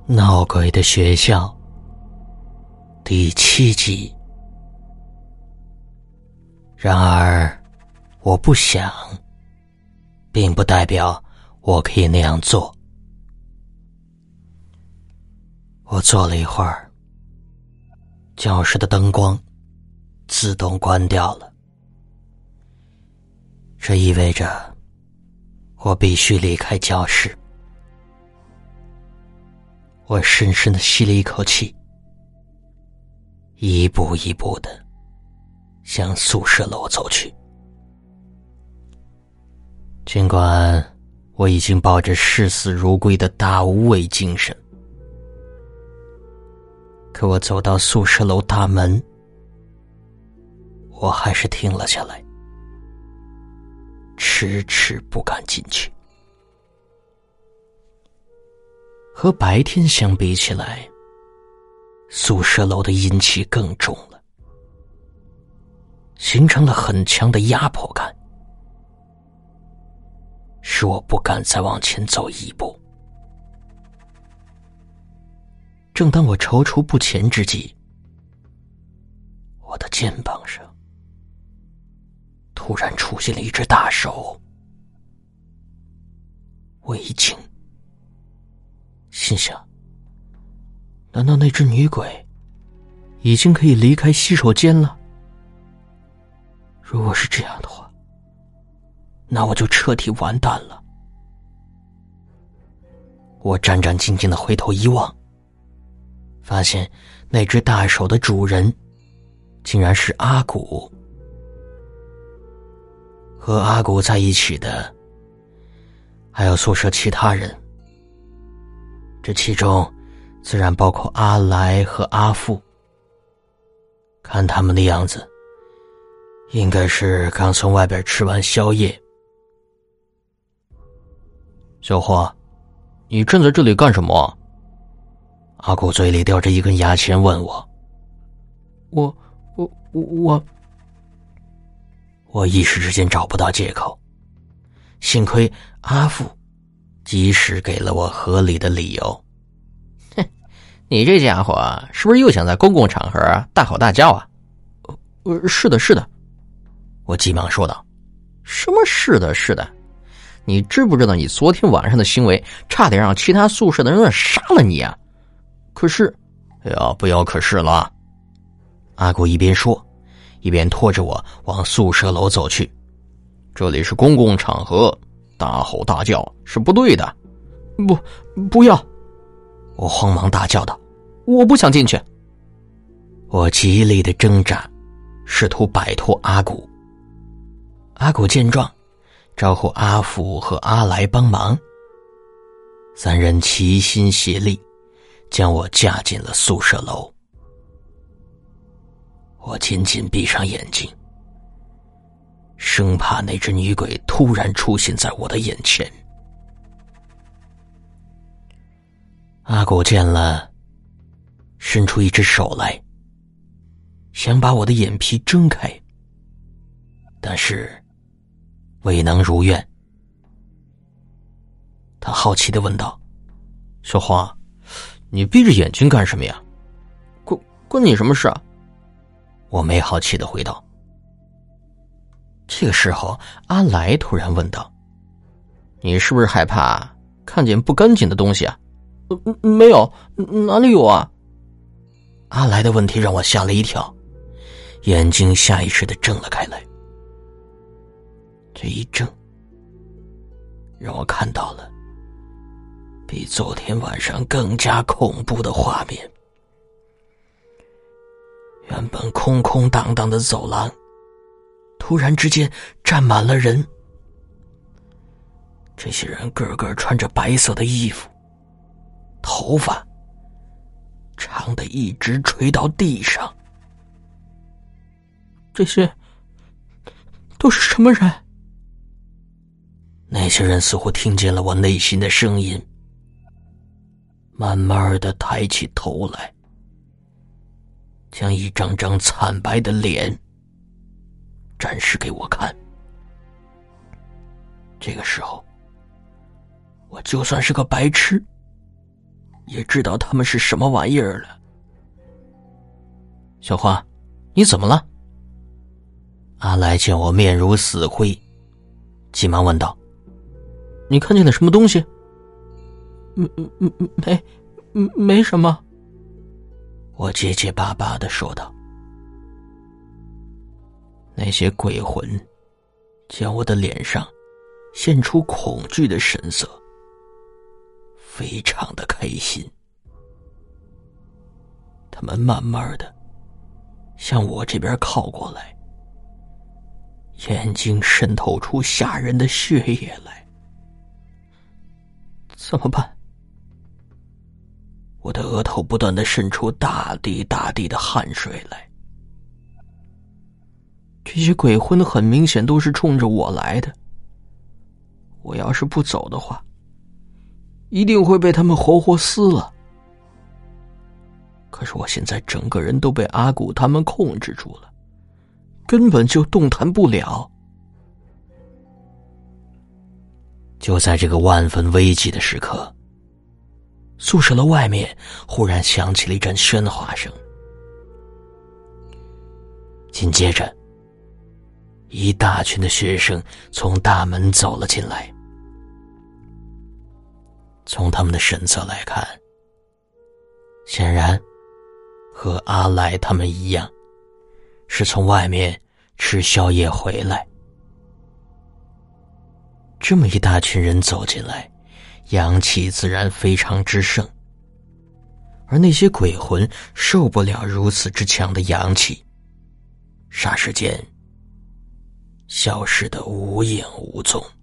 闹鬼的学校第7集。然而我不想，并不代表我可以那样做。我坐了一会儿，教室的灯光自动关掉了，这意味着我必须离开教室。我深深地吸了一口气，一步一步地向宿舍楼走去。尽管我已经抱着视死如归的大无畏精神，可我走到宿舍楼大门，我还是停了下来，迟迟不敢进去。和白天相比起来，宿舍楼的阴气更重了，形成了很强的压迫感，使我不敢再往前走一步。正当我踌躇不前之际，我的肩膀上突然出现了一只大手。我一惊，心想，难道那只女鬼已经可以离开洗手间了？如果是这样的话，那我就彻底完蛋了。我战战兢兢地回头一望，发现那只大手的主人竟然是阿古。和阿古在一起的还有宿舍其他人，这其中自然包括阿来和阿富。看他们的样子，应该是刚从外边吃完宵夜。小花，你站在这里干什么？阿古嘴里叼着一根牙签问我。我一时之间找不到借口，幸亏阿富及时给了我合理的理由。 你这家伙是不是又想在公共场合大吼大叫啊？ 是的，我急忙说道。 什么是的？你知不知道你昨天晚上的行为差点让其他宿舍的人杀了你啊？可是， 不要可是了。阿古一边说，一边拖着我往宿舍楼走去。 这里是公共场合，大吼大叫是不对的。 不要！我慌忙大叫道， 我不想进去。 我极力的挣扎，试图摆脱阿古。阿古见状，招呼阿富和阿来帮忙，三人齐心协力，将我架进了宿舍楼。我紧紧闭上眼睛，生怕那只女鬼突然出现在我的眼前。阿古见了，伸出一只手来，想把我的眼皮睁开，但是未能如愿。他好奇地问道： 小花，你闭着眼睛干什么呀？关你什么事啊？ 我没好气地回道。这个时候，阿来突然问道： 你是不是害怕看见不干净的东西啊？没有，哪里有啊？ 阿来的问题让我吓了一跳，眼睛下意识地睁了开来。这一睁，让我看到了比昨天晚上更加恐怖的画面。原本空空荡荡的走廊，突然之间站满了人。这些人个个穿着白色的衣服，头发长的一直垂到地上。 这些都是什么人？ 那些人似乎听见了我内心的声音，慢慢地抬起头来，将一张张惨白的脸展示给我看。这个时候，我就算是个白痴， 也知道他们是什么玩意儿了。 小花，你怎么了？ 阿来见我面如死灰，急忙问道： 你看见了什么东西？ 没什么。我结结巴巴地说道。那些鬼魂见我的脸上现出恐惧的神色，非常的开心。他们慢慢的向我这边靠过来，眼睛渗透出吓人的血液来。怎么办？我的额头不断的渗出大滴大滴的汗水来。这些鬼魂很明显都是冲着我来的，我要是不走的话，一定会被他们活活撕了。可是我现在整个人都被阿古他们控制住了，根本就动弹不了。就在这个万分危急的时刻，宿舍楼外面忽然响起了一阵喧哗声，紧接着一大群的学生从大门走了进来。从他们的神色来看，显然和阿来他们一样，是从外面吃宵夜回来。这么一大群人走进来，阳气自然非常之盛，而那些鬼魂受不了如此之强的阳气，霎时间消失得无影无踪。